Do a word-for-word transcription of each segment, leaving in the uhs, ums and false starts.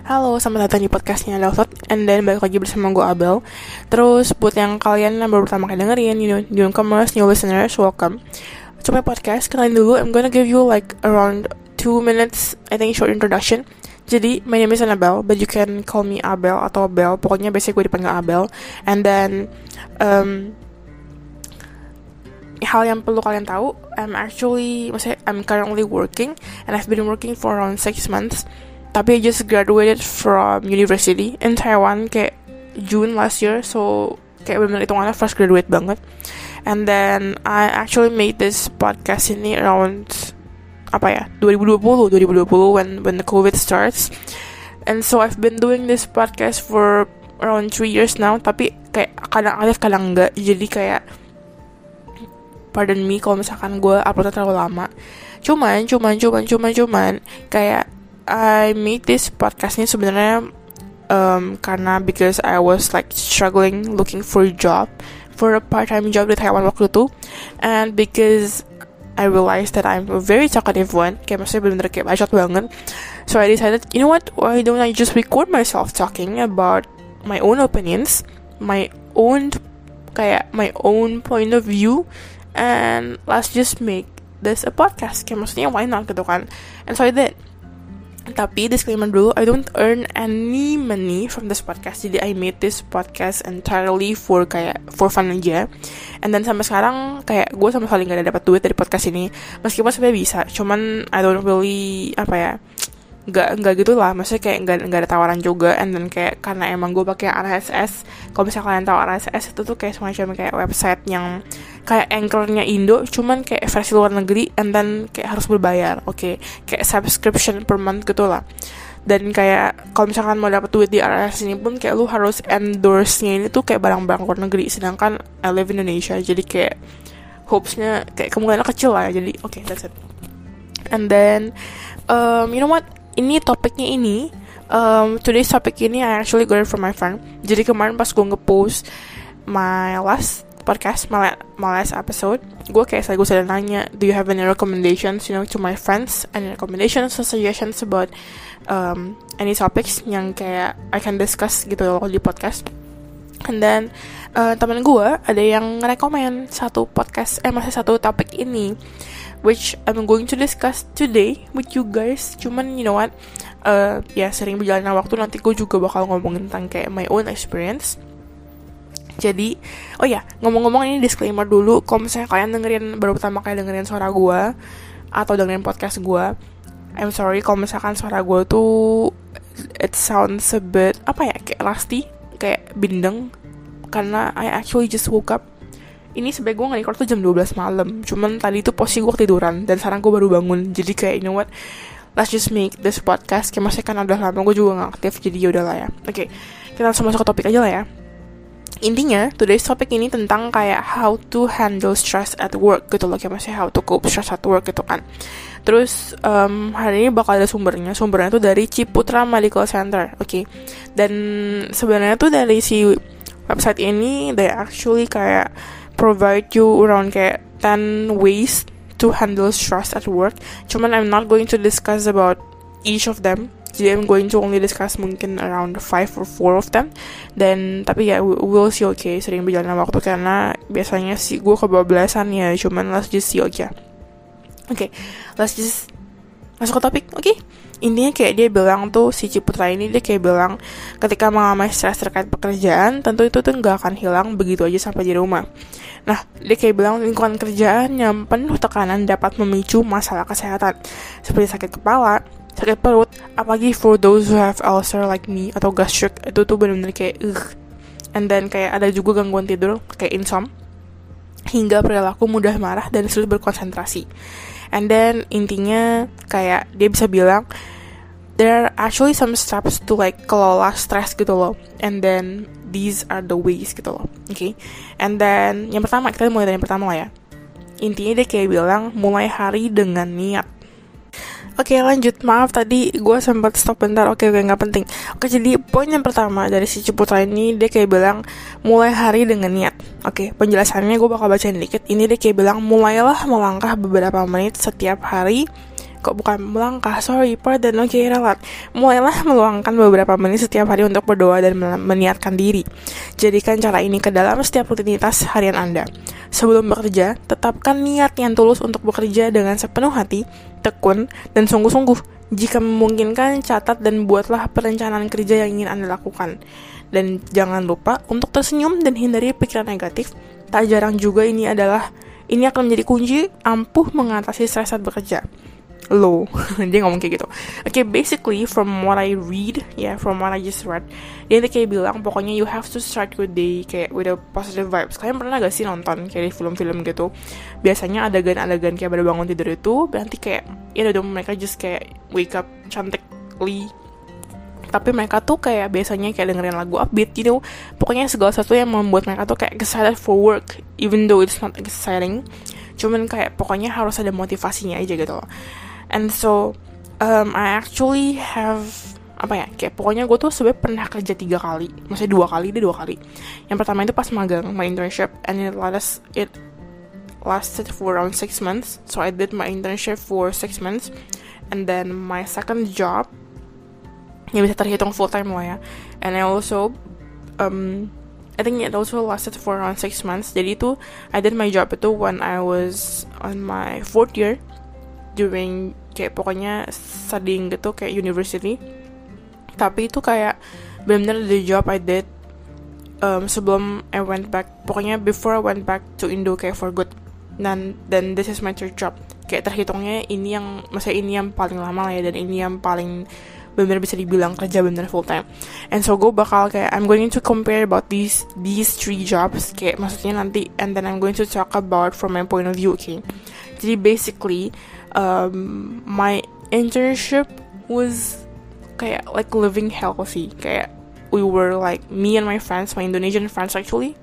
Halo, selamat datang di podcastnya Deltot. And then balik lagi bersama gue Abel. Terus buat yang kalian yang baru pertama kali dengerin, you know, newcomers, new listeners, welcome to my podcast. Kenalin dulu, I'm gonna give you like around two minutes, I think, short introduction. Jadi, my name is Annabelle, but you can call me Abel atau Bel. Pokoknya biasanya gue dipanggil Abel. And then, um, hal yang perlu kalian tahu, I'm actually, maksudnya I'm currently working, and I've been working for around six months. Tapi I just graduated from university in Taiwan kayak June last year, so kayak benar-benar hitungannya fresh graduate banget. And then I actually made this podcast ini around apa ya twenty twenty when when the COVID starts. And so I've been doing this podcast for around three years now. Tapi kayak kadang aktif kadang enggak. Jadi kayak pardon me kalau misalkan gue uploadnya terlalu lama. Cuman, cuman, cuman, cuman, cuman kayak I made this podcast ini sebenarnya um, karena because I was like struggling looking for a job, for a part-time job di Taiwan waktu itu, and because I realized that I'm a very talkative one, kayak maksudnya bener-bener kayak bacot banget. So I decided, you know what, why don't I just record myself talking about my own opinions, my own kayak my own point of view, and let's just make this a podcast. Kayak maksudnya why not gitu kan. And so I did. Tapi disclaimer dulu, I don't earn any money from this podcast. Jadi I made this podcast entirely for kayak for fun aja. And then sampai sekarang kayak gue sama sekali gak ada dapat duit dari podcast ini. Meskipun sebenarnya bisa, cuman I don't really apa ya, Gak, gak gitu lah, maksudnya kayak gak, gak ada tawaran juga. And then kayak karena emang gue pakai R S S. Kalau misalnya kalian tahu R S S itu tuh kayak semacam kayak website yang kayak Anchor-nya Indo, cuman kayak versi luar negeri. And then kayak harus berbayar, oke okay? Kayak subscription per month gitu lah. Dan kayak kalau misalkan mau dapat duit di R S S ini pun kayak lu harus endorse-nya ini tuh kayak barang-barang luar negeri. Sedangkan I live in Indonesia, jadi kayak hopes-nya kayak kemungkinan kecil lah ya. Jadi oke, okay, that's it. And then um, you know what, ini topiknya ini um, today's topic ini I actually got it from my friend. Jadi kemarin pas gue nge-post my last podcast, my, my last episode, gue kayak saya gue sudah nanya, do you have any recommendations, you know, to my friends, any recommendations or suggestions about um, any topics yang kayak I can discuss gitu loh di podcast. And then uh, temen gue ada yang nge-recommend satu podcast, eh masih satu topik ini, which I'm going to discuss today with you guys. Cuman you know what, uh, ya sering berjalannya waktu nanti gue juga bakal ngomongin tentang kayak my own experience. Jadi, oh ya, ngomong-ngomong ini disclaimer dulu, kalau misalnya kalian dengerin baru pertama kali dengerin suara gue atau dengerin podcast gue, I'm sorry kalau misalkan suara gue tuh it sounds a bit apa ya, kayak rusty, kayak bindeng, karena I actually just woke up. Ini sebenernya gue nge-record tuh jam dua belas malam. Cuman tadi tuh posisi gue ketiduran, dan sekarang gue baru bangun. Jadi kayak, you know what, let's just make this podcast. Kayak maksudnya kan udah lama gue juga gak aktif, jadi yaudah lah ya. Oke, okay, kita langsung masuk ke topik aja lah ya. Intinya, today's topic ini tentang kayak how to handle stress at work gitu loh. Kayak maksudnya how to cope stress at work gitu kan. Terus um, hari ini bakal ada sumbernya. Sumbernya tuh dari Ciputra Medical Center. Oke, okay. Dan sebenarnya tuh dari si website ini, they actually kayak provide you around kayak ten ways to handle stress at work. Cuman I'm not going to discuss about each of them. Jadi I'm going to only discuss mungkin around five or four of them. Dan tapi ya yeah, we'll see, oke okay, sering berjalan waktu karena biasanya sih gue kebablasan ya. Cuman let's just see aja. Oke, okay, let's just masuk ke topik. Oke, okay? Intinya kayak dia bilang tuh, si Ciputra ini dia kayak bilang ketika mengalami stres terkait pekerjaan, tentu itu tuh gak akan hilang begitu aja sampai di rumah. Nah, dia kayak bilang lingkungan kerjaan yang penuh tekanan dapat memicu masalah kesehatan seperti sakit kepala, sakit perut, apalagi for those who have ulcer like me atau gastric, itu tuh benar-benar kayak ugh. And then kayak ada juga gangguan tidur kayak insomnia, hingga perilaku mudah marah dan sulit berkonsentrasi. And then intinya kayak dia bisa bilang there are actually some steps to like kelola stres gitu loh. And then these are the ways gitu loh. Oke. Okay? And then yang pertama, kita mulai dari yang pertama lah ya. Intinya dia kayak bilang mulai hari dengan niat. Oke, lanjut. Maaf tadi gue sempat stop bentar. Oke, oke, gak penting. Oke, jadi poin yang pertama dari si Ciputra ini, dia kayak bilang mulai hari dengan niat. Oke, penjelasannya gue bakal bacain dikit. Ini dia kayak bilang mulailah melangkah beberapa menit setiap hari kok bukan melangkah, sorry, pardon, oke, okay, relat. Mulailah meluangkan beberapa menit setiap hari untuk berdoa dan meniatkan diri. Jadikan cara ini ke dalam setiap rutinitas harian Anda. Sebelum bekerja, tetapkan niat yang tulus untuk bekerja dengan sepenuh hati, tekun, dan sungguh-sungguh. Jika memungkinkan, catat dan buatlah perencanaan kerja yang ingin Anda lakukan. Dan jangan lupa untuk tersenyum dan hindari pikiran negatif. Tak jarang juga ini adalah Ini akan menjadi kunci ampuh mengatasi stres saat bekerja. Low, dia ngomong kayak gitu. Oke, okay, basically from what I read, ya, yeah, from what I just read, dia kayak bilang pokoknya you have to start your day kayak with a positive vibes. Kalian pernah gak sih nonton kayak di film-film gitu? Biasanya adegan-adegan kayak baru bangun tidur itu, nanti kayak ya udah mereka just kayak wake up cantikly. Tapi mereka tuh kayak biasanya kayak dengerin lagu upbeat gitu. Pokoknya segala sesuatu yang membuat mereka tuh kayak excited for work, even though it's not exciting. Cuman kayak pokoknya harus ada motivasinya aja gitu loh. And so um, I actually have apa ya, kayak pokoknya gue tuh sebenarnya pernah kerja tiga kali, maksudnya dua kali deh dua kali. Yang pertama itu pas magang, my internship, and it last it lasted for around six months. So I did my internship for six months, and then my second job ya bisa terhitung full time lah ya. And I also um I think it also lasted for around six months. Jadi itu I did my job itu when I was on my fourth year, during kayak pokoknya studying gitu kayak university. Tapi itu kayak benar-benar the job I did um, sebelum I went back, pokoknya before I went back to Indo kayak for good. Dan dan this is my third job. Kayak terhitungnya ini yang, maksudnya ini yang paling lama lah ya, dan ini yang paling benar bisa dibilang kerja benar full time. And so gue bakal kayak I'm going to compare about these these three jobs, kayak maksudnya nanti, and then I'm going to talk about from my point of view, okay? Jadi basically um, my internship was kayak like living healthy. Kayak we were like, me and my friends, my Indonesian friends actually,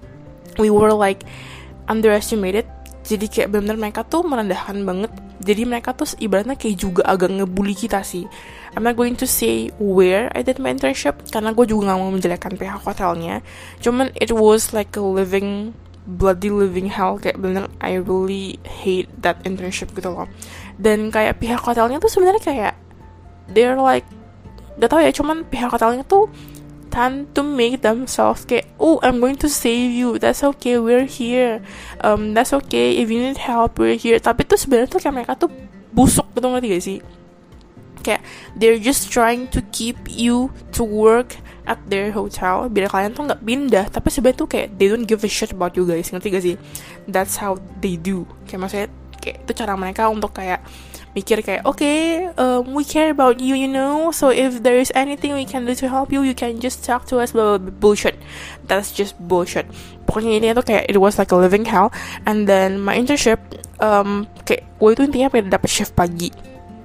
we were like underestimated. Jadi kayak benar-benar mereka tuh merendahkan banget. Jadi mereka tuh ibaratnya kayak juga agak ngebully kita sih. I'm not going to say where I did my internship, karena gue juga gak mau menjelekkan pihak hotelnya. Cuman it was like a living, bloody living hell. Kayak bener, I really hate that internship gitu loh. Dan kayak pihak hotelnya tuh sebenarnya kayak they're like, gak tau ya, cuman pihak hotelnya tuh tend to make themselves kayak, oh, I'm going to save you, that's okay, we're here, um, that's okay, if you need help, we're here. Tapi tuh sebenarnya tuh kayak mereka tuh busuk gitu, ngerti gak sih? Kayak they're just trying to keep you to work at their hotel biar kalian tuh nggak pindah. Tapi sebenarnya tuh kayak they don't give a shit about you guys, ngerti gak sih? That's how they do. Kayak maksudnya kayak itu cara mereka untuk kayak mikir kayak, okay, um, we care about you, you know, so if there is anything we can do to help you, you can just talk to us, blah, blah, blah. Bullshit. That's just bullshit. Pokoknya ini tuh kayak it was like a living hell. And then my internship, um, kayak gue itu intinya pengen dapet shift pagi.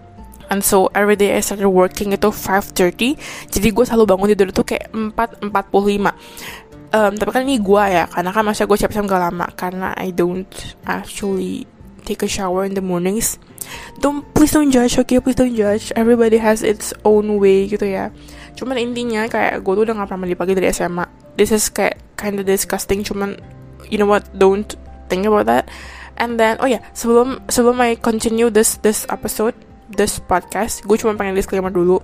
And so every day I started working itu five thirty. Jadi gue selalu bangun tidur tuh kayak empat empat puluh lima. Um, tapi kan ini gue ya, karena kan masa gue siap-siap gak lama, karena I don't actually take a shower in the mornings. Don't, please don't judge, okay, please don't judge. Everybody has its own way gitu ya. Cuman intinya kayak gue tuh udah gak pernah mandi pagi dari S M A. This is kayak kinda disgusting. Cuman you know what, don't think about that. And then oh ya yeah, sebelum sebelum I continue this this episode, this podcast, gue cuma pengen disclaimer dulu.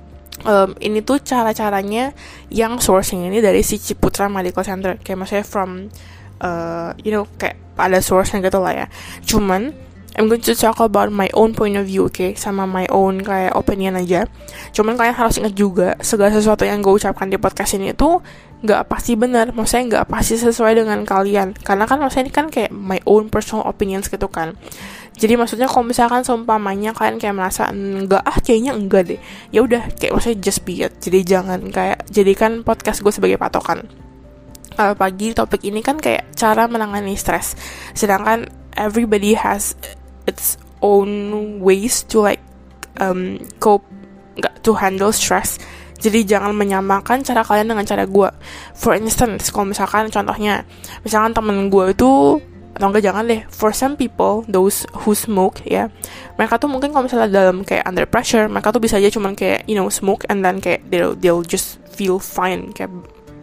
Um, ini tuh cara-caranya yang sourcing ini dari si Ciputra Medical Center. Kayak maksudnya from uh, you know, kayak ada source-nya gitu lah ya. Cuman I'm going to talk about my own point of view, okay? Sama my own kayak opinion aja. Cuman kalian harus ingat juga, segala sesuatu yang gue ucapkan di podcast ini itu gak pasti benar. Maksudnya gak pasti sesuai dengan kalian. Karena kan maksudnya ini kan kayak my own personal opinions gitu kan. Jadi maksudnya kalau misalkan seumpamanya kalian kayak merasa enggak, ah kayaknya enggak deh, ya udah, kayak maksudnya just be it. Jadi jangan kayak jadikan podcast gue sebagai patokan. Kalau pagi topik ini kan kayak cara menangani stres. Sedangkan everybody has its own ways to like um, cope, nggak, to handle stress. Jadi jangan menyamakan cara kalian dengan cara gue. For instance, kalau misalkan contohnya, misalkan temen gue itu, atau enggak jangan deh, for some people, those who smoke ya, mereka tuh mungkin kalau misalnya dalam kayak under pressure, mereka tuh bisa aja cuman kayak you know smoke and then kayak they'll, they'll just feel fine, kayak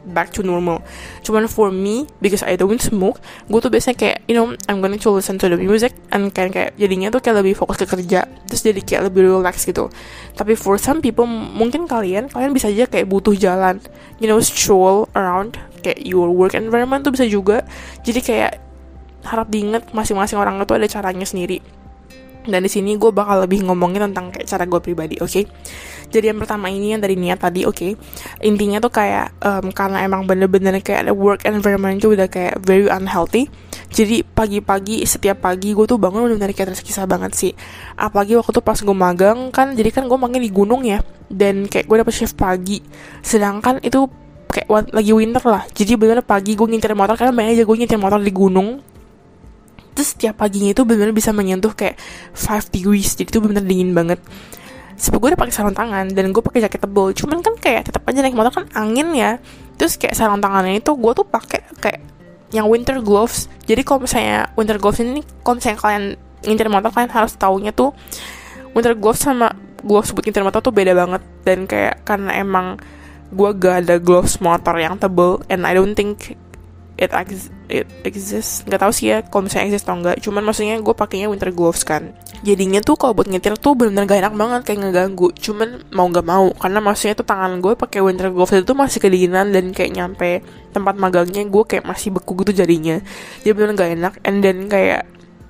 back to normal. Cuman for me, because I don't smoke, gue tuh biasanya kayak, you know, I'm going to listen to the music, and kayak, kayak jadinya tuh kayak lebih fokus ke kerja, terus jadi kayak lebih relax gitu. Tapi for some people, mungkin kalian, kalian bisa aja kayak butuh jalan, you know, stroll around, kayak your work environment tuh bisa juga. Jadi kayak harap diingat masing-masing orang itu ada caranya sendiri. Dan di sini gue bakal lebih ngomongin tentang kayak cara gue pribadi, oke? Okay? Jadi yang pertama ini yang dari niat tadi, oke? Okay? Intinya tuh kayak um, karena emang bener-bener kayak ada work environment itu udah kayak very unhealthy. Jadi pagi-pagi, setiap pagi gue tuh bangun bener-bener kayak tersiksa banget sih. Apalagi waktu tuh pas gue magang kan, jadi kan gue magang di gunung ya, dan kayak gue dapet shift pagi. Sedangkan itu kayak lagi winter lah. Jadi bener-bener pagi gue nyetir motor, karena banyak aja gue nyetir motor di gunung. Terus setiap paginya itu benar-benar bisa menyentuh kayak five degrees, jadi itu benar-benar dingin banget. Sebab gue udah pakai sarung tangan dan gue pakai jaket tebal, cuman kan kayak tetap aja naik motor kan angin ya. Terus kayak sarung tangannya itu gue tuh pakai kayak yang winter gloves. Jadi kalau misalnya winter gloves ini, kalau misalnya kalian ngincer motor, kalian harus taunya tuh winter gloves sama gloves buat ngincer motor tuh beda banget. Dan kayak karena emang gue gak ada gloves motor yang tebal, and I don't think it ex- it exists, nggak tahu sih ya kalau misalnya exist atau enggak. Cuman maksudnya gue pakainya winter gloves kan, jadinya tuh kalau buat nyetir tuh benar-benar gak enak banget, kayak ngeganggu. Cuman mau nggak mau, karena maksudnya tuh tangan gue pakai winter gloves itu tuh masih kedinginan, dan kayak nyampe tempat magangnya gue kayak masih beku gitu jadinya, jadi benar gak enak. And then kayak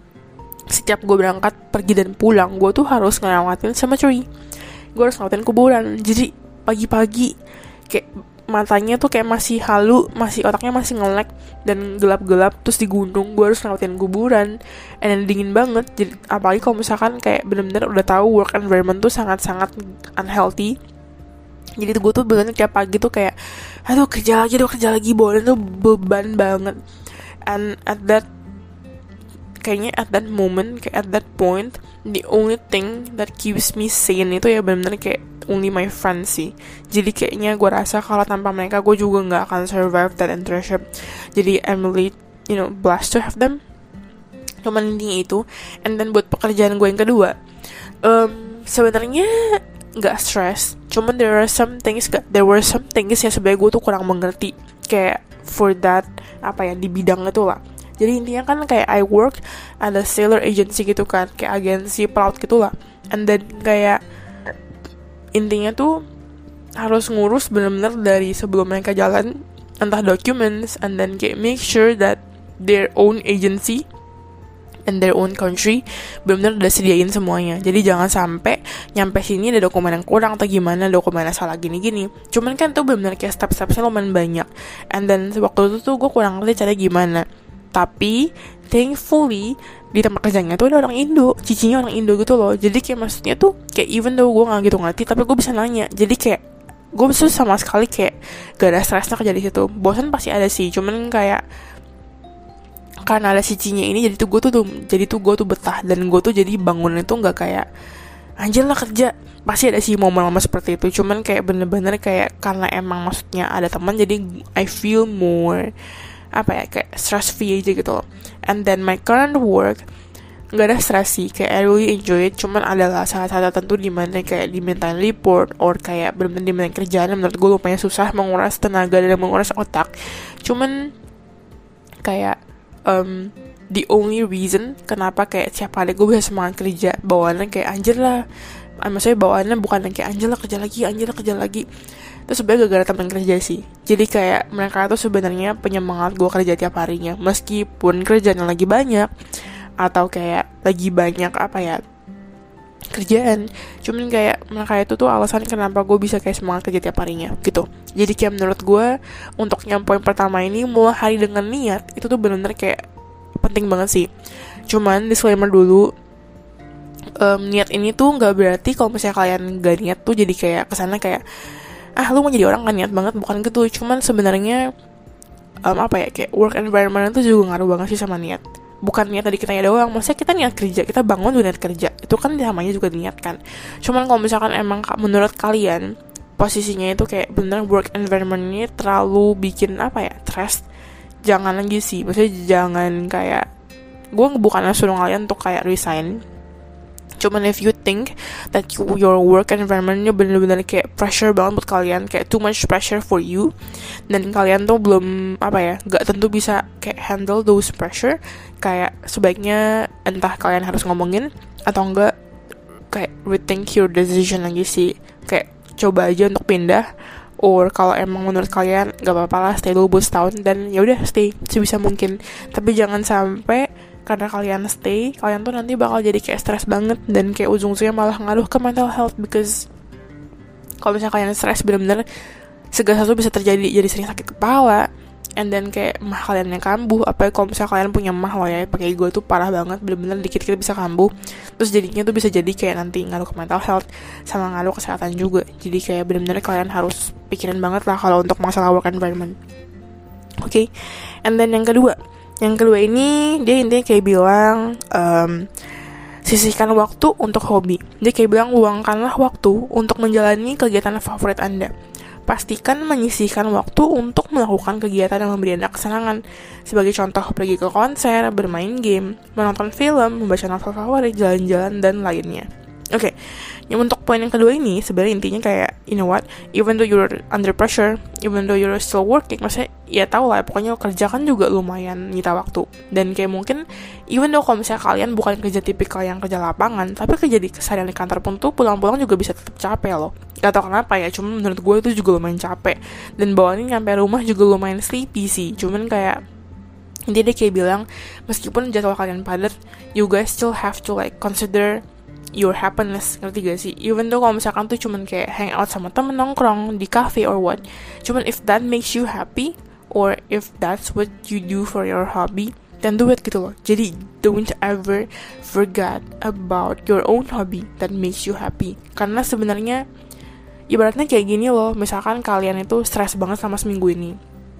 setiap gue berangkat pergi dan pulang, gue tuh harus ngelewatin cemetery, gue harus ngelewatin kuburan. Jadi pagi-pagi kayak matanya tuh kayak masih halu, masih otaknya masih ngelek dan gelap-gelap. Terus di gunung gue harus ngelewatin kuburan, and then dingin banget. Jadi apalagi kalau misalkan kayak bener-bener udah tahu work environment tuh sangat-sangat unhealthy. Jadi gue tuh bener-bener tiap pagi tuh kayak, aduh kerja lagi, aduh kerja lagi, boleh tuh beban banget. And at that kayaknya at that moment, kayak at that point, the only thing that keeps me sane itu ya bener-bener kayak only my friends sih. Jadi kayaknya gue rasa kalau tanpa mereka gue juga nggak akan survive that internship. Jadi I'm really, you know, blessed to have them. Cuman intinya itu. And then buat pekerjaan gue yang kedua, um, sebenarnya nggak stress. Cuman there are some things, there were some things yang sebenarnya gue tuh kurang mengerti. Kayak for that apa ya di bidang itu lah. Jadi intinya kan kayak I work ada sailor agency gitu kan, kayak agensi pelaut gitu lah. And then kayak intinya tuh harus ngurus bener-bener dari sebelum mereka jalan, entah documents, and then kayak make sure that their own agency and their own country bener-bener udah sediain semuanya. Jadi jangan sampai nyampe sini ada dokumen yang kurang atau gimana, dokumennya salah gini-gini. Cuman kan tuh bener-bener kayak step-stepnya lumayan banyak. And then waktu itu tuh gue kurang ngerti caranya gimana. Tapi thankfully di tempat kerjanya tuh ada orang Indo, cicinya orang Indo gitu loh. Jadi kayak maksudnya tuh kayak even though gue nggak gitu ngerti, tapi gue bisa nanya. Jadi kayak gue bisa sama sekali kayak gak ada stresnya kerja di situ. Bosan pasti ada sih, cuman kayak karena ada cicinya ini, jadi tuh gue tuh, tuh jadi tuh gue tuh betah. Dan gue tuh jadi bangun itu nggak kayak anjir lah kerja. Pasti ada sih momen-momen seperti itu. Cuman kayak bener-bener kayak karena emang maksudnya ada teman, jadi I feel more apa ya kayak stress free aja gitu loh. And then my current work nggak ada stress sih, kayak I really enjoy it. Cuman adalah saat-saat tertentu dimana kayak dimintain report or kayak benar-benar dimintain kerjaan menurut gue lumayan susah, menguras tenaga dan menguras otak. Cuman kayak um, the only reason kenapa kayak siapa ada gue bisa semangat kerja, bawaannya kayak anjir lah, maksudnya bawaannya bukan yang kayak anjir lah kerja lagi, anjir lah kerja lagi. Itu sebenarnya gara-gara teman kerja sih. Jadi kayak mereka tuh sebenarnya penyemangat gue kerja tiap harinya, meskipun kerjaan lagi banyak atau kayak lagi banyak apa ya kerjaan. Cuman kayak mereka itu tuh alasan kenapa gue bisa kayak semangat kerja tiap harinya gitu. Jadi kayak menurut gue untuk yang poin pertama ini, mulai hari dengan niat, itu tuh benar-benar kayak penting banget sih. Cuman disclaimer dulu, um, niat ini tuh nggak berarti kalau misalnya kalian gak niat tuh jadi kayak kesana kayak ah lu mau jadi orang kan niat banget, bukan gitu. Cuman sebenarnya um, apa ya kayak work environment itu juga ngaruh banget sih sama niat. Bukan niat tadi kita ya doang, maksudnya kita niat kerja, kita bangun juga niat kerja, itu kan namanya juga niat kan. Cuman kalau misalkan emang menurut kalian posisinya itu kayak bener work environment-nya terlalu bikin apa ya stress, jangan lagi sih. Maksudnya jangan kayak, gue bukan suruh kalian untuk kayak resign, Cuman if you think that you, your work environment-nya bener-bener kayak pressure banget buat kalian, kayak too much pressure for you, dan kalian tuh belum, apa ya, gak tentu bisa kayak handle those pressure, kayak sebaiknya entah kalian harus ngomongin, atau enggak kayak rethink your decision lagi sih. Kayak coba aja untuk pindah, or kalau emang menurut kalian gak apa-apa lah stay dulu buat setahun, dan ya udah stay sebisa mungkin. Tapi jangan sampai karena kalian stay, kalian tuh nanti bakal jadi kayak stres banget, dan kayak ujung-ujungnya malah ngaruh ke mental health. Because kalau misalnya kalian stres bener-bener segala sesuatu bisa terjadi, jadi sering sakit kepala, and then kayak mah kalian yang kambuh. Apalagi kalau misalnya kalian punya mah loh ya, pakai ego tuh parah banget, bener-bener dikit-dikit bisa kambuh. Terus jadinya tuh bisa jadi kayak nanti ngaruh ke mental health sama ngaruh kesehatan juga. Jadi kayak bener-bener kalian harus pikirin banget lah kalau untuk masalah work environment. Oke, okay? And then yang kedua Yang kedua ini dia intinya kayak bilang um, sisihkan waktu untuk hobi. Dia kayak bilang luangkanlah waktu untuk menjalani kegiatan favorit Anda. Pastikan menyisihkan waktu untuk melakukan kegiatan yang memberi Anda kesenangan. Sebagai contoh, pergi ke konser, bermain game, menonton film, membaca novel favorit, jalan-jalan, dan lainnya. Oke, okay. Yang untuk poin yang kedua ini sebenarnya intinya kayak, you know what, even though you're under pressure, even though you're still working, maksudnya ya tau lah, pokoknya kerja kan juga lumayan nyita waktu. Dan kayak mungkin, even though kalau misalnya kalian bukan kerja tipikal yang kerja lapangan, tapi kerja di keseharian di kantor pun tuh pulang-pulang juga bisa tetap capek loh. Gak tau kenapa ya, cuman menurut gue itu juga lumayan capek. Dan bawaannya nyampe rumah juga lumayan sleepy sih, cuman kayak intinya dia kayak bilang, meskipun jadwal kalian padat, you guys still have to like consider your happiness, ngerti gak sih? Even though kalau misalkan tuh cuman kayak hang out sama temen, nongkrong di cafe or what, cuman if that makes you happy, or if that's what you do for your hobby, then do it gitu loh. Jadi don't ever forget about your own hobby that makes you happy. Karena sebenarnya ibaratnya kayak gini loh, misalkan kalian itu stres banget sama seminggu ini,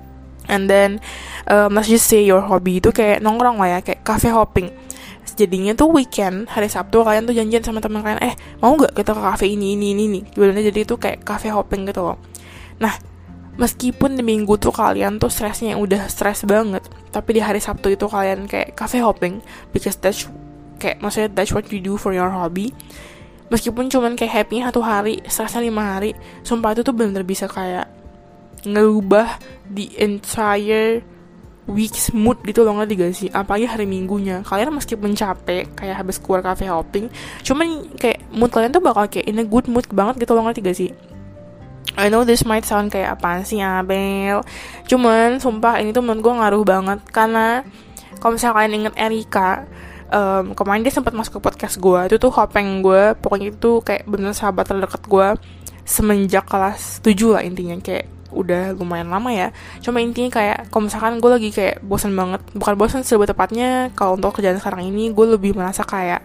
and then um, let's just say your hobby itu kayak nongkrong lah ya, kayak cafe hopping. Jadinya tuh weekend, hari Sabtu kalian tuh janjian sama teman kalian, eh mau gak kita ke cafe ini, ini, ini, ini. Sebenarnya jadi itu kayak cafe hopping gitu loh. Nah, meskipun di minggu tuh kalian tuh stresnya yang udah stres banget, tapi di hari Sabtu itu kalian kayak cafe hopping, because that's kayak, maksudnya that's what you do for your hobby. Meskipun cuman kayak happy-nya satu hari, stresnya lima hari, sumpah itu tuh bener-bener bisa kayak ngerubah the entire week's mood gitu loh, ngerti gak sih? Apalagi hari minggunya, kalian meskipun capek kayak habis keluar cafe hopping, cuman kayak mood kalian tuh bakal kayak in a good mood banget gitu loh, ngerti gak sih? I know this might sound kayak apaan sih Abel, cuman sumpah ini tuh menurut gue ngaruh banget. Karena kalau misalnya kalian inget Erika, um, kemarin dia sempat masuk ke podcast gue, itu tuh hopeng gue, pokoknya itu kayak bener sahabat terdekat gue semenjak kelas tujuh lah intinya, kayak udah lumayan lama ya. Cuma intinya kayak kalau misalkan gue lagi kayak bosan banget, bukan bosan sih lebih tepatnya, kalau untuk kerjaan sekarang ini gue lebih merasa kayak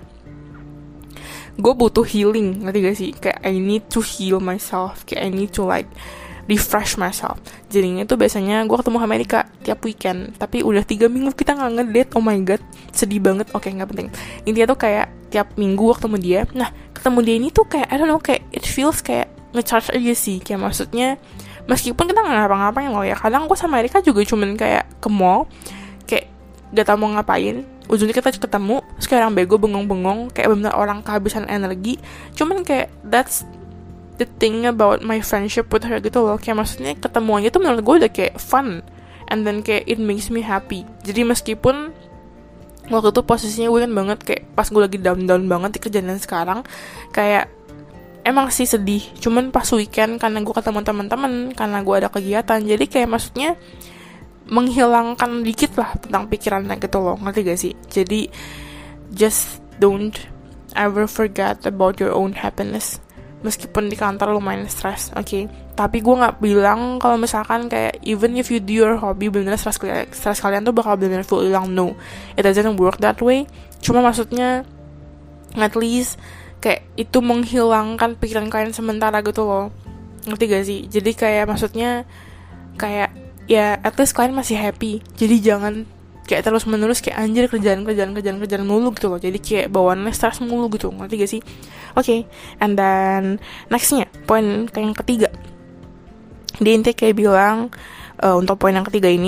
gue butuh healing, ngerti gak sih? Kayak I need to heal myself, kayak I need to like refresh myself. Jadinya tuh biasanya gue ketemu sama Erika tiap weekend, tapi udah tiga minggu kita gak ngedate. Oh my god, sedih banget. Oke, okay, gak penting. Intinya tuh kayak tiap minggu gue ketemu dia. Nah, ketemu dia ini tuh kayak I don't know, kayak it feels kayak ngecharge aja sih. Kayak maksudnya meskipun kita gak ngapa-ngapain loh ya, kadang gue sama Erika juga cuman kayak ke mall, kayak gak tau mau ngapain, ujungnya kita ketemu, terus kayak orang bego bengong-bengong, kayak bener orang kehabisan energi. Cuman kayak that's the thing about my friendship with her gitu loh. Kayak maksudnya ketemu aja tuh menurut gue udah kayak fun, and then kayak it makes me happy. Jadi meskipun waktu itu posisinya gue kan banget, kayak pas gue lagi down-down banget di kerjaan sekarang, kayak emang sih sedih, cuman pas weekend karena gue ketemu teman-teman, karena gue ada kegiatan, jadi kayak maksudnya menghilangkan dikit lah tentang pikirannya gitu loh, ngerti gak sih? Jadi just don't ever forget about your own happiness. Meskipun di kantor lumayan stress, oke, okay? Tapi gue nggak bilang kalau misalkan kayak even if you do your hobby bener-bener stress kalian, stress kalian tuh bakal bener-bener full hilang. No, it doesn't work that way. Cuma maksudnya at least kayak itu menghilangkan pikiran kalian sementara gitu loh, ngerti gak sih? Jadi kayak maksudnya kayak ya at least kalian masih happy. Jadi jangan kayak terus menerus kayak anjir kerjaan kerjaan kerjaan kerjaan mulu gitu loh. Jadi kayak bawaannya stres mulu gitu, ngerti gak sih? Oke, okay. And then nextnya poin yang ketiga, dia intinya kayak bilang uh, untuk poin yang ketiga ini,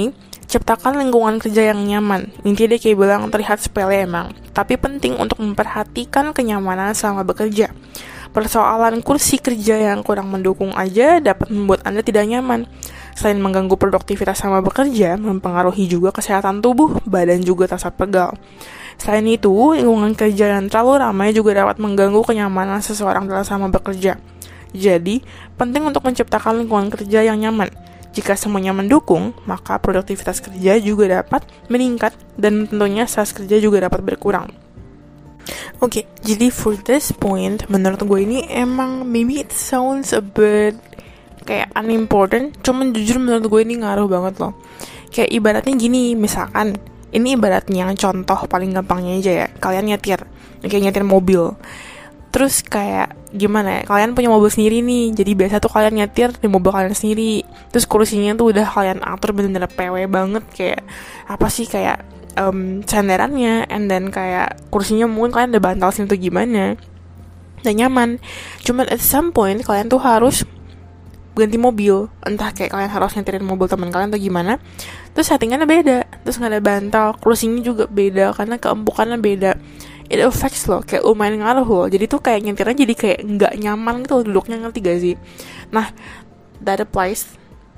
Ciptakan lingkungan kerja yang nyaman. Intinya dia kayak bilang terlihat sepele emang, tapi penting untuk memperhatikan kenyamanan selama bekerja. Persoalan kursi kerja yang kurang mendukung aja dapat membuat Anda tidak nyaman. Selain mengganggu produktivitas selama bekerja, mempengaruhi juga kesehatan tubuh, badan juga terasa pegal. Selain itu, lingkungan kerja yang terlalu ramai juga dapat mengganggu kenyamanan seseorang dalam selama bekerja. Jadi, penting untuk menciptakan lingkungan kerja yang nyaman. Jika semuanya mendukung, maka produktivitas kerja juga dapat meningkat dan tentunya stres kerja juga dapat berkurang. Oke, okay, jadi for this point, menurut gue ini emang maybe it sounds a bit kayak unimportant, cuman jujur menurut gue ini ngaruh banget loh. Kayak ibaratnya gini, misalkan, ini ibaratnya contoh paling gampangnya aja ya, kalian nyetir, kayak nyetir mobil. Terus kayak gimana ya, kalian punya mobil sendiri nih, jadi biasa tuh kalian nyetir di mobil kalian sendiri. Terus kursinya tuh udah kalian atur bener-bener P W banget, kayak apa sih, kayak um, sandarannya, and then kayak kursinya mungkin kalian ada bantal sini tuh gimana, dan nyaman. Cuman at some point kalian tuh harus ganti mobil, entah kayak kalian harus nyetirin mobil teman kalian atau gimana. Terus settingannya beda, terus nggak ada bantal, kursinya juga beda karena keempukannya beda. It affects loh, kayak lumayan ngaruh loh. Jadi tuh kayak nyetirnya jadi kayak nggak nyaman gitu loh duduknya, ngerti gak sih? Nah, that applies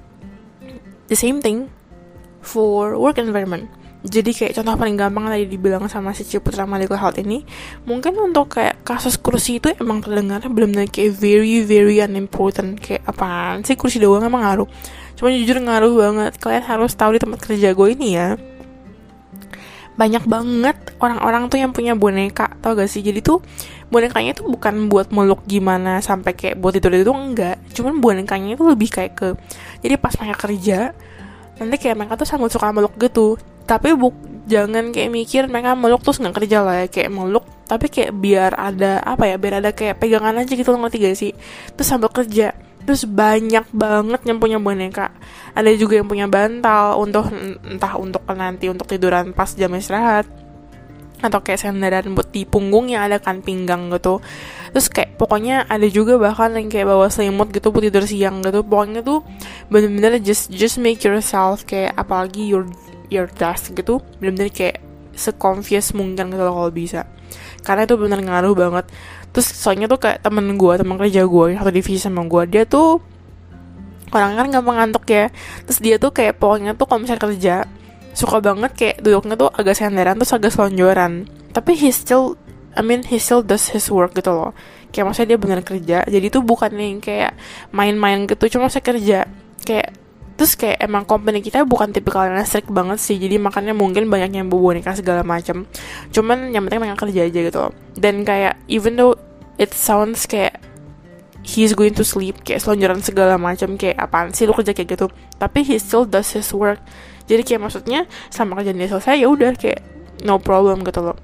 the same thing for work environment. Jadi kayak contoh paling gampang tadi dibilang sama si Ciputra Medical Health ini, mungkin untuk kayak kasus kursi itu emang terdengarnya benar-benar kayak very very unimportant, kayak apaan sih kursi doang emang ngaruh. Cuma jujur ngaruh banget. Kalian harus tahu di tempat kerja gue ini ya, banyak banget orang-orang tuh yang punya boneka, tau gak sih? Jadi tuh bonekanya tuh bukan buat meluk gimana sampai kayak buat tidur itu enggak, cuman bonekanya itu lebih kayak ke, jadi pas mereka kerja nanti kayak mereka tuh sangat suka meluk gitu. Tapi buk, jangan kayak mikir mereka meluk terus nggak kerja lah ya, kayak meluk tapi kayak biar ada apa ya, biar ada kayak pegangan aja gitu, ngerti gak sih? Terus sambil kerja. Terus banyak banget yang punya boneka. Ada juga yang punya bantal untuk entah untuk nanti untuk tiduran pas jam istirahat, atau kayak sandaran buat di punggung yang ada kan pinggang gitu. Terus kayak pokoknya ada juga bahkan yang kayak bawa selimut gitu buat tidur siang gitu. Pokoknya tuh bener-bener just just make yourself kayak apalagi your your desk gitu bener-bener kayak se-confused mungkin gitu loh kalau bisa. Karena itu bener ngaruh banget. Terus soalnya tuh kayak temen gue, temen kerja gue yang satu divisi sama gue, dia tuh orang kan gampang ngantuk ya. Terus dia tuh kayak pokoknya tuh kalau misalnya kerja suka banget kayak duduknya tuh agak senderan terus agak selonjoran. Tapi he still, I mean he still does his work gitu loh. Kayak maksudnya dia bener kerja. Jadi tuh bukan yang kayak main-main gitu, cuma saya kerja. Kayak terus kayak emang company kita bukan tipikal yang strict banget sih, jadi makanya mungkin banyak yang bawa boneka segala macam. Cuman yang penting mereka kerja aja gitu loh. Dan kayak even though it sounds kayak he's going to sleep, kayak selonjoran segala macam, kayak apaan sih lu kerja kayak gitu, tapi he still does his work. Jadi kayak maksudnya sama kerjaan dia selesai ya udah kayak no problem gitu loh.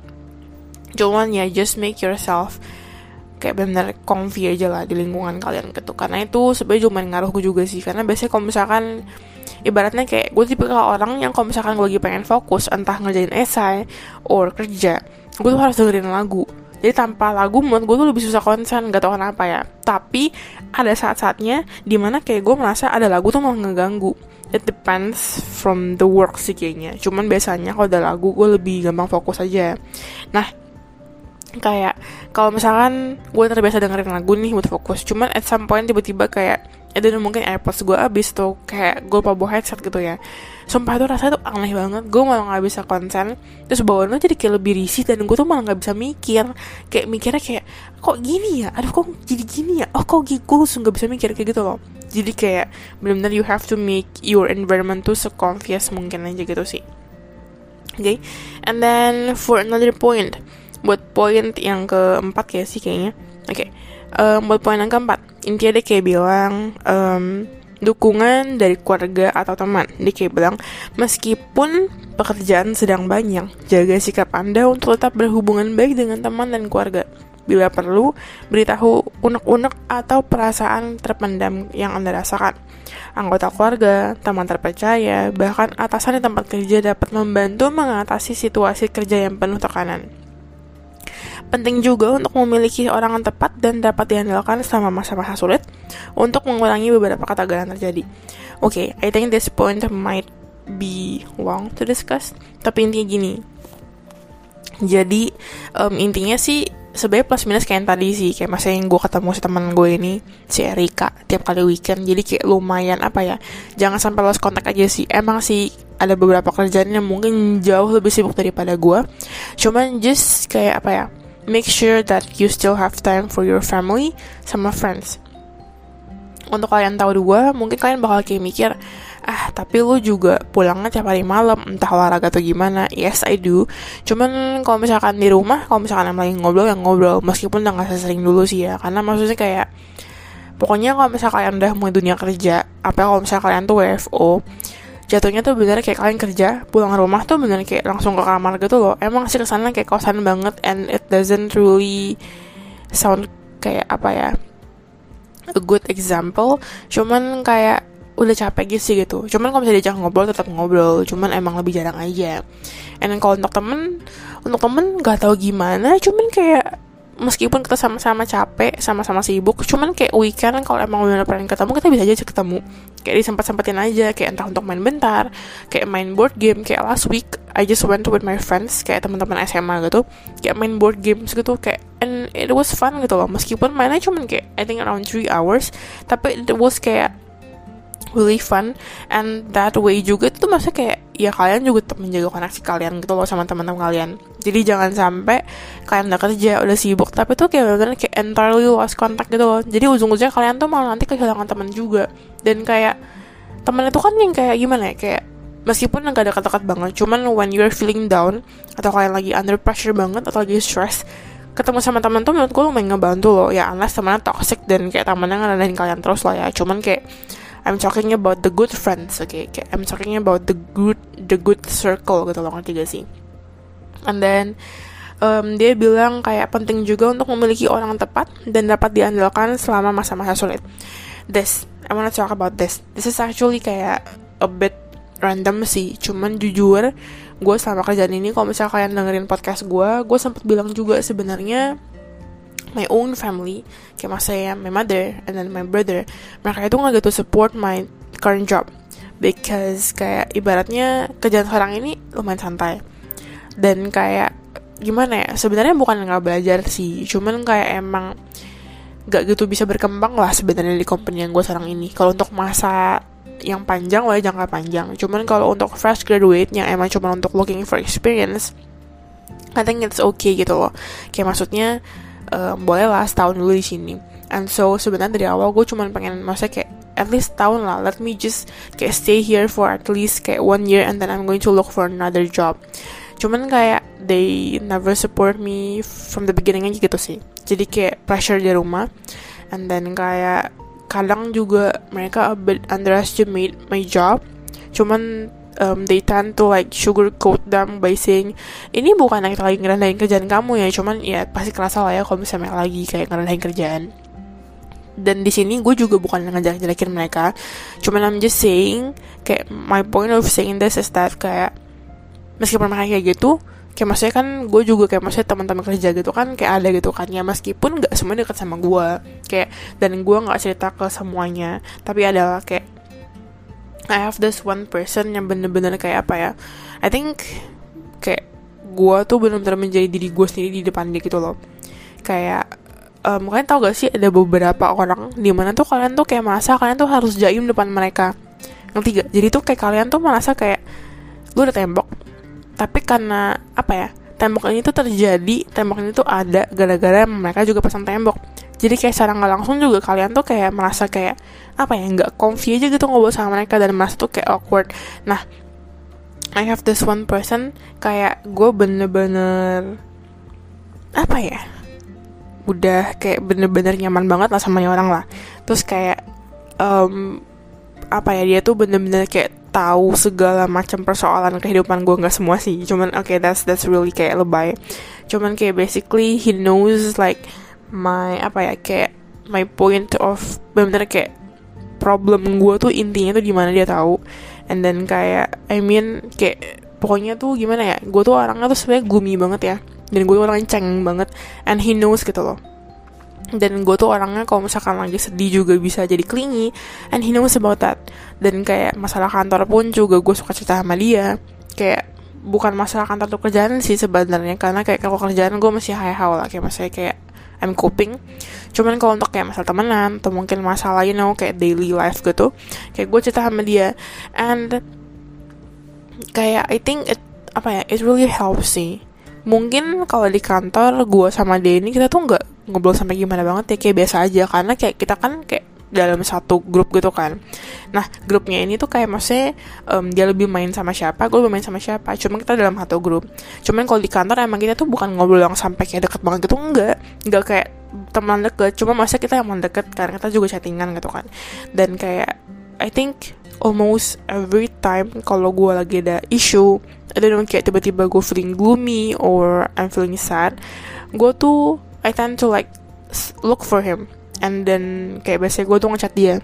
Cuman ya just make yourself kayak benar comfy aja lah di lingkungan kalian gitu. Karena itu sebenarnya cuma ngaruh gue juga sih. Karena biasanya kalau misalkan ibaratnya kayak gue tipikal orang yang kalau misalkan gue lagi pengen fokus entah ngerjain esai or kerja, gue tuh harus dengerin lagu. Jadi tanpa lagu menurut gue tuh lebih susah konsen, gak tau kenapa ya. Tapi ada saat-saatnya dimana kayak gue merasa ada lagu tuh malah ngeganggu. It depends from the work sih kayaknya. Cuman biasanya kalau ada lagu gue lebih gampang fokus aja. Nah kayak kalau misalkan gue terbiasa dengerin lagu nih buat fokus, cuman at some point tiba-tiba kayak ada mungkin AirPods gue abis tuh, kayak gue lupa bawa headset gitu ya. Sumpah tuh rasanya tuh aneh banget, gue malah nggak bisa konsen. Terus bawaannya jadi kayak lebih risih dan gue tuh malah nggak bisa mikir. Kayak mikirnya kayak kok gini ya, aduh kok jadi gini ya, oh kok gitu, gue langsung nggak bisa mikir kayak gitu loh. Jadi kayak benar-benar you have to make your environment tuh se-confused mungkin aja gitu sih. Oke, okay? And then for another point, buat poin yang keempat kayak sih kayaknya. Oke, okay. um, buat poin yang keempat, intinya dia kayak bilang um, dukungan dari keluarga atau teman. Dia kayak bilang meskipun pekerjaan sedang banyak, jaga sikap Anda untuk tetap berhubungan baik dengan teman dan keluarga. Bila perlu, beritahu unek-unek atau perasaan terpendam yang Anda rasakan. Anggota keluarga, teman terpercaya, bahkan atasan di tempat kerja dapat membantu mengatasi situasi kerja yang penuh tekanan. Penting juga untuk memiliki orang yang tepat dan dapat diandalkan selama masa-masa sulit untuk mengurangi beberapa ketagalan terjadi. Oke, okay, I think this point might be long to discuss. Tapi intinya gini, jadi um, intinya sih sebenarnya plus minus kayak yang tadi sih, kayak masa yang gue ketemu si teman gue ini, si Erika, tiap kali weekend. Jadi kayak lumayan apa ya, jangan sampai lost contact aja sih. Emang sih ada beberapa kerjaan yang mungkin jauh lebih sibuk daripada gue, cuman just kayak apa ya, make sure that you still have time for your family sama friends. Untuk kalian tahu dua, mungkin kalian bakal kayak mikir, ah tapi lu juga pulangnya tiap hari malam, entah olahraga atau gimana. Yes, I do. Cuman kalau misalkan di rumah, kalau misalkan yang lagi ngobrol, yang ngobrol, meskipun udah gak sesering dulu sih ya. Karena maksudnya kayak, pokoknya kalau misalkan kalian udah mulai dunia kerja, apa kalau misalkan kalian tuh W F O, jatuhnya tuh bener kayak kalian kerja, pulang rumah tuh bener kayak langsung ke kamar gitu loh. Emang sih kesana kayak kosan banget, and it doesn't really sound kayak apa ya, a good example. Cuman kayak udah capek gitu sih gitu. Cuman kalau misalnya diajak ngobrol tetap ngobrol, cuman emang lebih jarang aja. And kalau untuk temen, untuk temen gak tahu gimana, cuman kayak meskipun kita sama-sama capek, sama-sama sibuk, cuman kayak weekend kalau emang bener pengen ketemu, kita bisa aja ketemu. Kayak disempat-sempatin aja, kayak entah untuk main bentar, kayak main board game. Kayak last week I just went with my friends, kayak teman-teman S M A gitu, kayak main board games gitu, kayak and it was fun gitu loh. Meskipun mainnya cuman kayak I think around three hours, tapi it was kayak really fun. And that way juga itu maksudnya kayak ya kalian juga tetap menjaga koneksi kalian gitu loh sama teman-teman kalian. Jadi jangan sampai kalian udah kerja, udah sibuk, tapi tuh kayak bener-bener kayak entirely lost contact gitu loh. Jadi ujung-ujungnya kalian tuh malah nanti kehilangan teman juga. Dan kayak teman itu kan yang kayak gimana ya, kayak meskipun gak dekat-dekat banget, cuman when you're feeling down, atau kalian lagi under pressure banget, atau lagi stress, ketemu sama teman tuh menurut gue lumayan ngebantu loh. Ya unless temannya toxic dan kayak temannya ngerendahin kalian terus lah ya. Cuman kayak I'm talking about the good friends, okay? Kayak I'm talking about the good, the good circle gitu loh, ngerti gak sih? And then um, dia bilang kayak penting juga untuk memiliki orang tepat dan dapat diandalkan selama masa-masa sulit. This, I wanna talk about this. This is actually kayak a bit random sih, cuman jujur gue selama kerjaan ini, kalau misalnya kalian dengerin podcast gue, gue sempet bilang juga sebenarnya my own family, kayak mas saya, my mother, and then my brother, mereka itu gak gitu support my current job, because kayak ibaratnya kerjaan sekarang ini lumayan santai, dan kayak gimana ya, sebenarnya bukan gak belajar sih, cuman kayak emang gak gitu bisa berkembang lah sebenarnya di company yang gue sekarang ini. Kalau untuk masa yang panjang lah, jangka panjang, cuman kalau untuk fresh graduate yang emang cuma untuk looking for experience, I think it's okay gitu loh. Kayak maksudnya Um, boleh lah setahun dulu di sini. And so sebenarnya dari awal gue cuma pengen, maksudnya kayak at least tahun lah, let me just kayak stay here for at least kayak one year, and then I'm going to look for another job. Cuman kayak they never support me from the beginning aja gitu sih. Jadi kayak pressure di rumah, and then kayak kadang juga mereka a bit underestimate my job. Cuman Um, they tend to like sugarcoat them by saying ini bukan yang lagi ngerendahin kerjaan kamu ya, cuman ya pasti kerasa lah ya kalau misalnya lagi kayak ngerendahin kerjaan. Dan di sini gue juga bukan ngejelek-jelekin mereka, cuman I'm just saying kayak my point of saying this is that kayak meskipun mereka kayak gitu, kayak maksudnya kan gue juga kayak maksudnya teman-teman kerja gitu kan kayak ada gitu kan ya, meskipun nggak semuanya dekat sama gue kayak, dan gue nggak cerita ke semuanya, tapi adalah kayak I have this one person yang bener-bener kayak apa ya, I think kayak gue tuh bener-bener menjadi diri gue sendiri di depan dia gitu loh. Kayak um, kalian tau gak sih ada beberapa orang dimana tuh kalian tuh kayak merasa kalian tuh harus jaim depan mereka, ngerti gak? Jadi tuh kayak kalian tuh merasa kayak lu ada tembok, tapi karena apa ya, tembok ini tuh terjadi, tembok ini tuh ada gara-gara mereka juga pasang tembok. Jadi kayak secara gak langsung juga kalian tuh kayak merasa kayak apa ya, gak comfy aja gitu ngobrol sama mereka, dan merasa tuh kayak awkward. Nah, I have this one person, kayak gue bener-bener apa ya, udah kayak bener-bener nyaman banget lah sama orang lah. Terus kayak um, apa ya, dia tuh bener-bener kayak tahu segala macam persoalan kehidupan gue, nggak semua sih, cuman oke okay, that's that's really kayak lebay. Cuman kayak basically he knows like my apa ya, kayak my point of bener-bener kayak problem gue tuh intinya tuh di mana dia tahu. And then kayak I mean kayak pokoknya tuh gimana ya, gue tuh orangnya tuh sebenarnya gloomy banget ya, dan gue tuh orangnya cengeng banget, and he knows gitu loh. Dan gue tuh orangnya kalau misalkan lagi sedih juga bisa jadi clingy, and he knows about that. Dan kayak masalah kantor pun juga gue suka cerita sama dia. Kayak bukan masalah kantor tuh kerjaan sih sebenarnya, karena kayak kalau kerjaan gue masih high-how lah, kayak masih kayak I'm coping. Cuman kalau untuk kayak masalah temenan atau mungkin masalah you know kayak daily life gitu, kayak gue cerita sama dia, and kayak I think it apa ya it really helps sih. Mungkin kalau di kantor gue sama dia ini kita tuh nggak ngobrol sampai gimana banget ya, kayak biasa aja, karena kayak kita kan kayak dalam satu grup gitu kan. Nah grupnya ini tuh kayak maksudnya um, dia lebih main sama siapa, gue lebih main sama siapa, cuma kita dalam satu grup. Cuman kalau di kantor emang kita tuh bukan ngobrol yang sampai kayak deket banget gitu, enggak enggak kayak teman deket, cuma maksudnya kita emang deket karena kita juga chattingan gitu kan. Dan kayak I think almost every time kalau gue lagi ada issue, I don't know, kayak tiba-tiba gue feeling gloomy or I'm feeling sad, gue tuh I tend to like look for him, and then kayak biasanya gue tuh ngechat dia.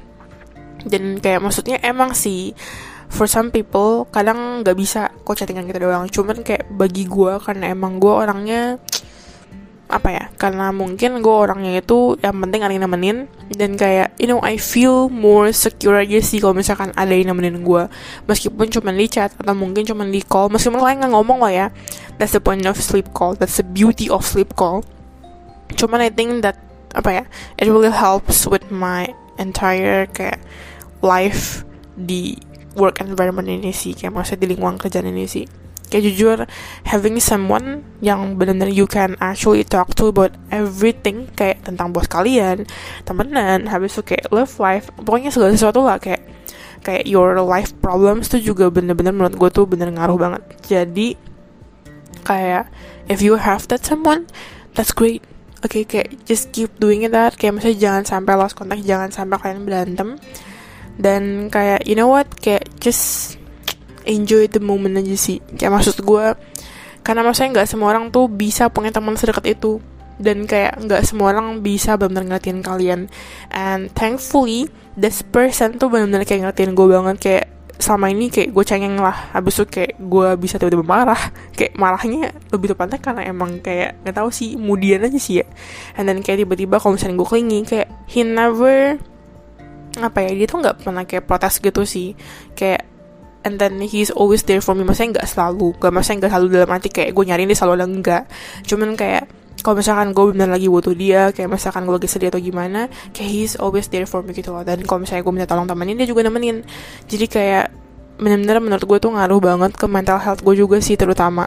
Dan kayak maksudnya emang sih for some people kadang nggak bisa kok chattingan kita doang, cuman kayak bagi gue karena emang gue orangnya apa ya, karena mungkin gue orangnya itu yang penting ada yang nemenin, dan kayak you know I feel more secure aja sih kalau misalkan ada yang nemenin gue, meskipun cuma di chat atau mungkin cuma di call, meskipun kalian nggak ngomong lah ya. That's the point of sleep call, that's the beauty of sleep call. Cuman I think that apa ya, it really helps with my entire kayak life di work environment ini sih, kayak maksudnya di lingkungan kerjaan ini sih. Kayak jujur, having someone yang benar-benar you can actually talk to about everything, kayak tentang bos kalian, temenan, habis itu kayak love life, pokoknya segala sesuatu lah, kayak kayak your life problems tuh juga benar-benar menurut gue tuh bener ngaruh banget. Jadi kayak if you have that someone, that's great. Oke, okay, kayak just keep doing it that. Kayak maksudnya jangan sampai lost contact, jangan sampai kalian berantem. Dan kayak you know what, kayak just enjoy the moment aja sih. Kayak maksud gue, karena maksudnya gak semua orang tuh bisa punya teman sedekat itu. Dan kayak gak semua orang bisa benar-benar ngertiin kalian. And thankfully, this person tuh benar-benar kayak ngertiin gue banget. Kayak selama ini kayak gue cengeng lah, habis itu kayak gue bisa tiba-tiba marah, kayak marahnya lebih tepatnya karena emang kayak nggak tahu sih, moodian aja sih ya. And then kayak tiba-tiba kalau misalnya gue clingy, kayak he never apa ya, dia tuh nggak pernah kayak protes gitu sih, kayak and then he's always there for me. Maksudnya nggak selalu, nggak maksudnya nggak selalu dalam arti kayak gue nyariin dia selalu ada, enggak, cuman kayak kalau misalkan gue benar lagi butuh dia, kayak misalkan gue lagi sedih atau gimana, kayak he's always there for me gitu loh. Dan kalau misalnya gue minta tolong temenin, dia juga nemenin. Jadi kayak benar-benar menurut gue tuh ngaruh banget ke mental health gue juga sih terutama.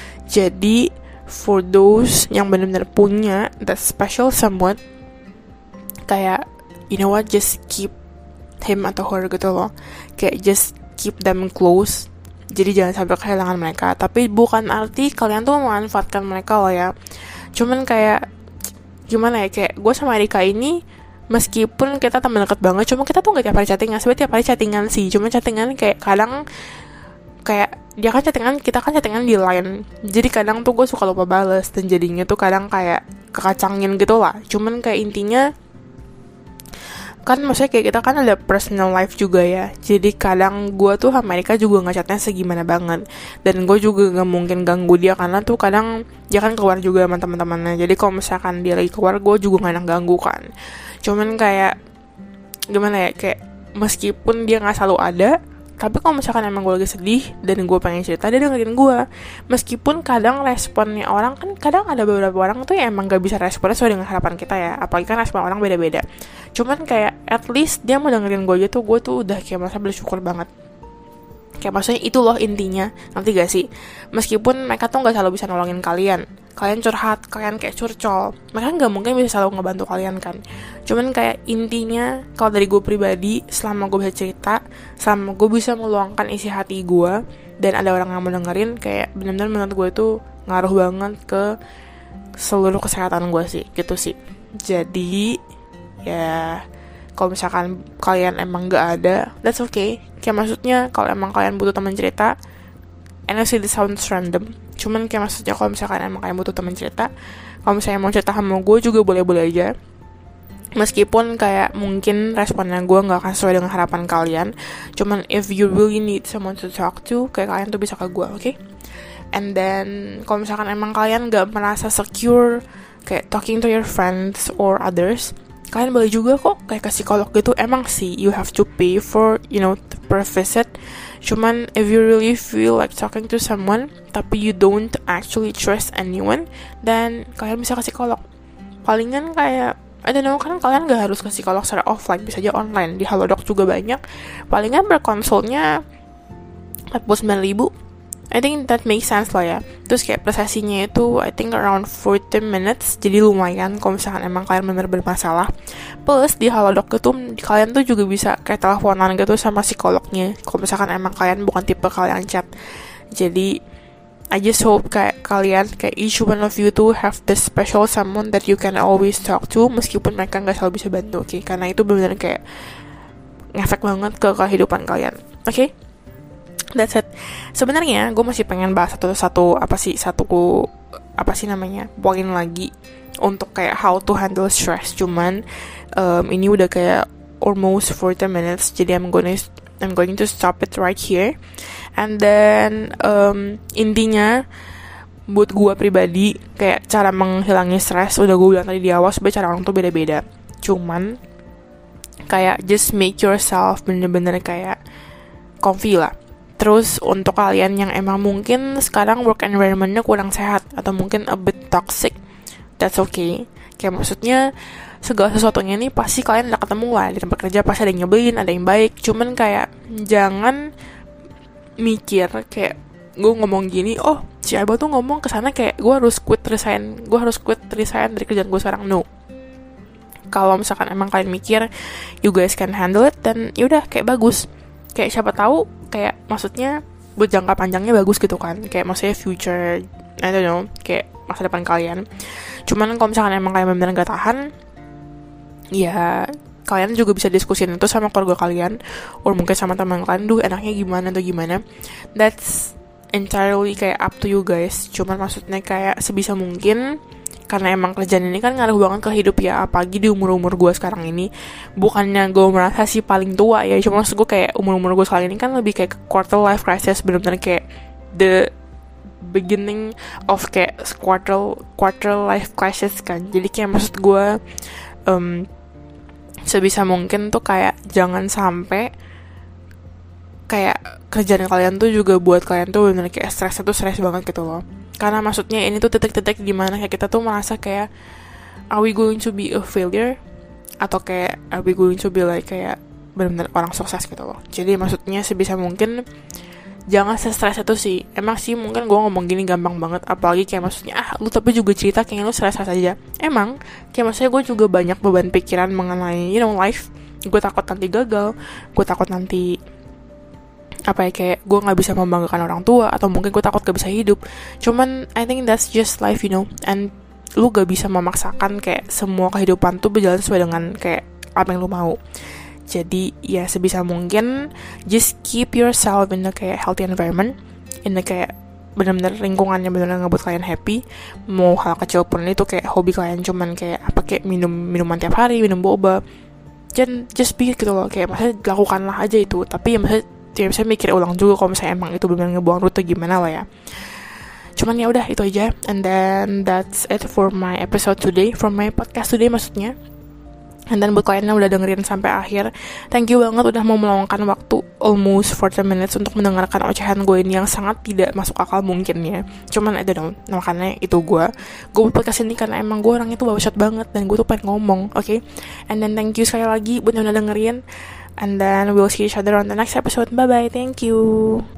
Jadi for those yang benar-benar punya that special someone, kayak you know what, just keep him atau her gitu loh. Kayak just keep them close. Jadi jangan sampai kehilangan mereka. Tapi bukan arti kalian tuh memanfaatkan mereka loh ya. Cuman kayak gimana ya, kayak gue sama Erika ini meskipun kita teman dekat banget, cuma kita tuh gak tiap hari chattingan. Sebenarnya tiap hari chattingan sih, cuma chattingan kayak kadang kayak dia kan chattingan, kita kan chattingan di line, jadi kadang tuh gue suka lupa bales, dan jadinya tuh kadang kayak kekacangin gitu lah. Cuman kayak intinya kan maksudnya kayak kita kan ada personal life juga ya, jadi kadang gue tuh sama Erika juga ngechatnya segimana banget, dan gue juga gak mungkin ganggu dia karena tuh kadang dia kan keluar juga sama teman-temannya. Jadi kalau misalkan dia lagi keluar, gue juga gak enak ganggu kan. Cuman kayak gimana ya, kayak meskipun dia gak selalu ada, tapi kalau misalkan emang gue lagi sedih dan gue pengen cerita, dia dengerin gue. Meskipun kadang responnya orang kan, kadang ada beberapa orang tuh yang emang gak bisa responnya sesuai dengan harapan kita ya, apalagi kan respon orang beda-beda. Cuman kayak at least dia mau dengerin gue aja tuh, gue tuh udah kayak merasa bersyukur banget. Kayak maksudnya itu loh intinya, nanti gak sih? Meskipun mereka tuh gak selalu bisa nolongin kalian, kalian curhat, kalian kayak curcol, mereka gak mungkin bisa selalu ngebantu kalian kan. Cuman kayak intinya, kalau dari gue pribadi, selama gue bisa cerita, selama gue bisa meluangkan isi hati gue, dan ada orang yang mau dengerin, kayak benar-benar menurut gue tuh ngaruh banget ke seluruh kesehatan gue sih, gitu sih. Jadi ya kalau misalkan kalian emang gak ada, that's okay. Kayak maksudnya kalau emang kalian butuh teman cerita, I know this sounds random, cuman kayak maksudnya kalau misalkan emang kalian butuh teman cerita, kalau misalnya mau cerita sama gue juga boleh-boleh aja. Meskipun kayak mungkin responnya gue gak akan sesuai dengan harapan kalian, cuman if you really need someone to talk to, kayak kalian tuh bisa ke gue, oke? Okay? And then kalau misalkan emang kalian gak merasa secure kayak talking to your friends or others, kalian boleh juga kok kayak ke psikolog gitu. Emang sih you have to pay for, you know, per visit. Cuman if you really feel like talking to someone tapi you don't actually trust anyone, then kalian bisa ke psikolog. Palingan kayak I don't know, kan kalian gak harus ke psikolog secara offline, bisa aja online. Di Halodoc juga banyak. Palingan berkonsulnya empat puluh sembilan ribu. I think that makes sense lah ya. Terus kayak per sesinya itu I think around forty minutes. Jadi lumayan kalau misalkan emang kalian bener bermasalah. Plus di Halodoc itu kalian tuh juga bisa kayak teleponan gitu sama psikolognya kalau misalkan emang kalian bukan tipe kalian chat. Jadi I just hope kayak kalian, kayak each one of you tuh have this special someone that you can always talk to, meskipun mereka gak selalu bisa bantu, oke? Okay? Karena itu bener-bener kayak ngefek banget ke kehidupan kalian, oke? Okay? That's it. Sebenarnya gue masih pengen bahas satu-satu apa sih satu apa sih namanya poin lagi untuk kayak how to handle stress. Cuman um, ini udah kayak almost forty minutes, jadi I'm gonna I'm going to stop it right here. And then um, intinya buat gue pribadi kayak cara menghilangi stres udah gue bilang tadi di awal, sebenarnya cara orang tuh beda-beda. Cuman kayak just make yourself bener-bener kayak comfy lah. Terus untuk kalian yang emang mungkin sekarang work environment-nya kurang sehat atau mungkin a bit toxic, that's okay. Kayak maksudnya segala sesuatunya nih pasti kalian udah ketemu lah di tempat kerja, pasti ada yang nyebelin, ada yang baik. Cuman kayak jangan mikir kayak gue ngomong gini, oh si Abah tuh ngomong kesana kayak gue harus quit resign, gue harus quit resign dari kerjaan gue sekarang. No. Kalau misalkan emang kalian mikir you guys can handle it, dan yaudah kayak bagus. Kayak siapa tahu kayak maksudnya buat jangka panjangnya bagus gitu kan, kayak maksudnya future, I don't know, kayak masa depan kalian. Cuman kalau misalkan emang kalian benar-benar gak tahan, ya kalian juga bisa diskusin itu sama keluarga kalian, or mungkin sama teman kalian, duh enaknya gimana atau gimana. That's entirely kayak up to you guys. Cuman maksudnya kayak sebisa mungkin, karena emang kerjaan ini kan ngaruh banget ke hidup ya, apalagi di umur-umur gue sekarang ini. Bukannya gue merasa sih paling tua ya, cuma maksud gue kayak umur-umur gue sekarang ini kan lebih kayak quarter life crisis, benar-benar kayak the beginning of kayak quarter quarter life crisis kan. Jadi kayak maksud gue um, sebisa mungkin tuh kayak jangan sampai kayak kerjaan kalian tuh juga buat kalian tuh benar kayak stresnya tuh stres banget gitu loh. Karena maksudnya ini tuh titik-titik dimana kayak kita tuh merasa kayak are we going to be a failure, atau kayak are we going to be like kayak benar-benar orang sukses gitu loh. Jadi maksudnya sebisa mungkin jangan se-stres itu sih. Emang sih mungkin gue ngomong gini gampang banget, apalagi kayak maksudnya ah lu tapi juga cerita kayak lu stres aja. Emang kayak maksudnya gue juga banyak beban pikiran mengenai you know life. Gue takut nanti gagal, gue takut nanti apa ya kayak gue nggak bisa membanggakan orang tua, atau mungkin gue takut gak bisa hidup. Cuman I think that's just life, you know. And lu gak bisa memaksakan kayak semua kehidupan tuh berjalan sesuai dengan kayak apa yang lu mau. Jadi ya sebisa mungkin just keep yourself in a kayak healthy environment, in a kayak benar-benar lingkungan yang benar-benar ngebuat kalian happy. Mau hal kecil pun itu kayak hobi kalian cuman kayak apa kayak minum minuman tiap hari, minum boba, just just be gitu loh. Kayak maksudnya lakukanlah aja itu. Tapi ya maksudnya ya bisa mikir ulang juga kalau misalnya emang itu benar-benar ngebuang rute gimana lah ya. Cuman ya udah itu aja. And then that's it for my episode today, for my podcast today maksudnya. And then buat kalian yang udah dengerin sampai akhir, thank you banget udah mau meluangkan waktu almost forty minutes untuk mendengarkan ocehan gue ini yang sangat tidak masuk akal mungkin ya. Cuman I don't know, makanya itu gue Gue buat podcast ini karena emang gue orangnya tuh bawasat banget, dan gue tuh pengen ngomong, oke okay? And then thank you sekali lagi buat yang udah dengerin. And then we'll see each other on the next episode. Bye bye, thank you.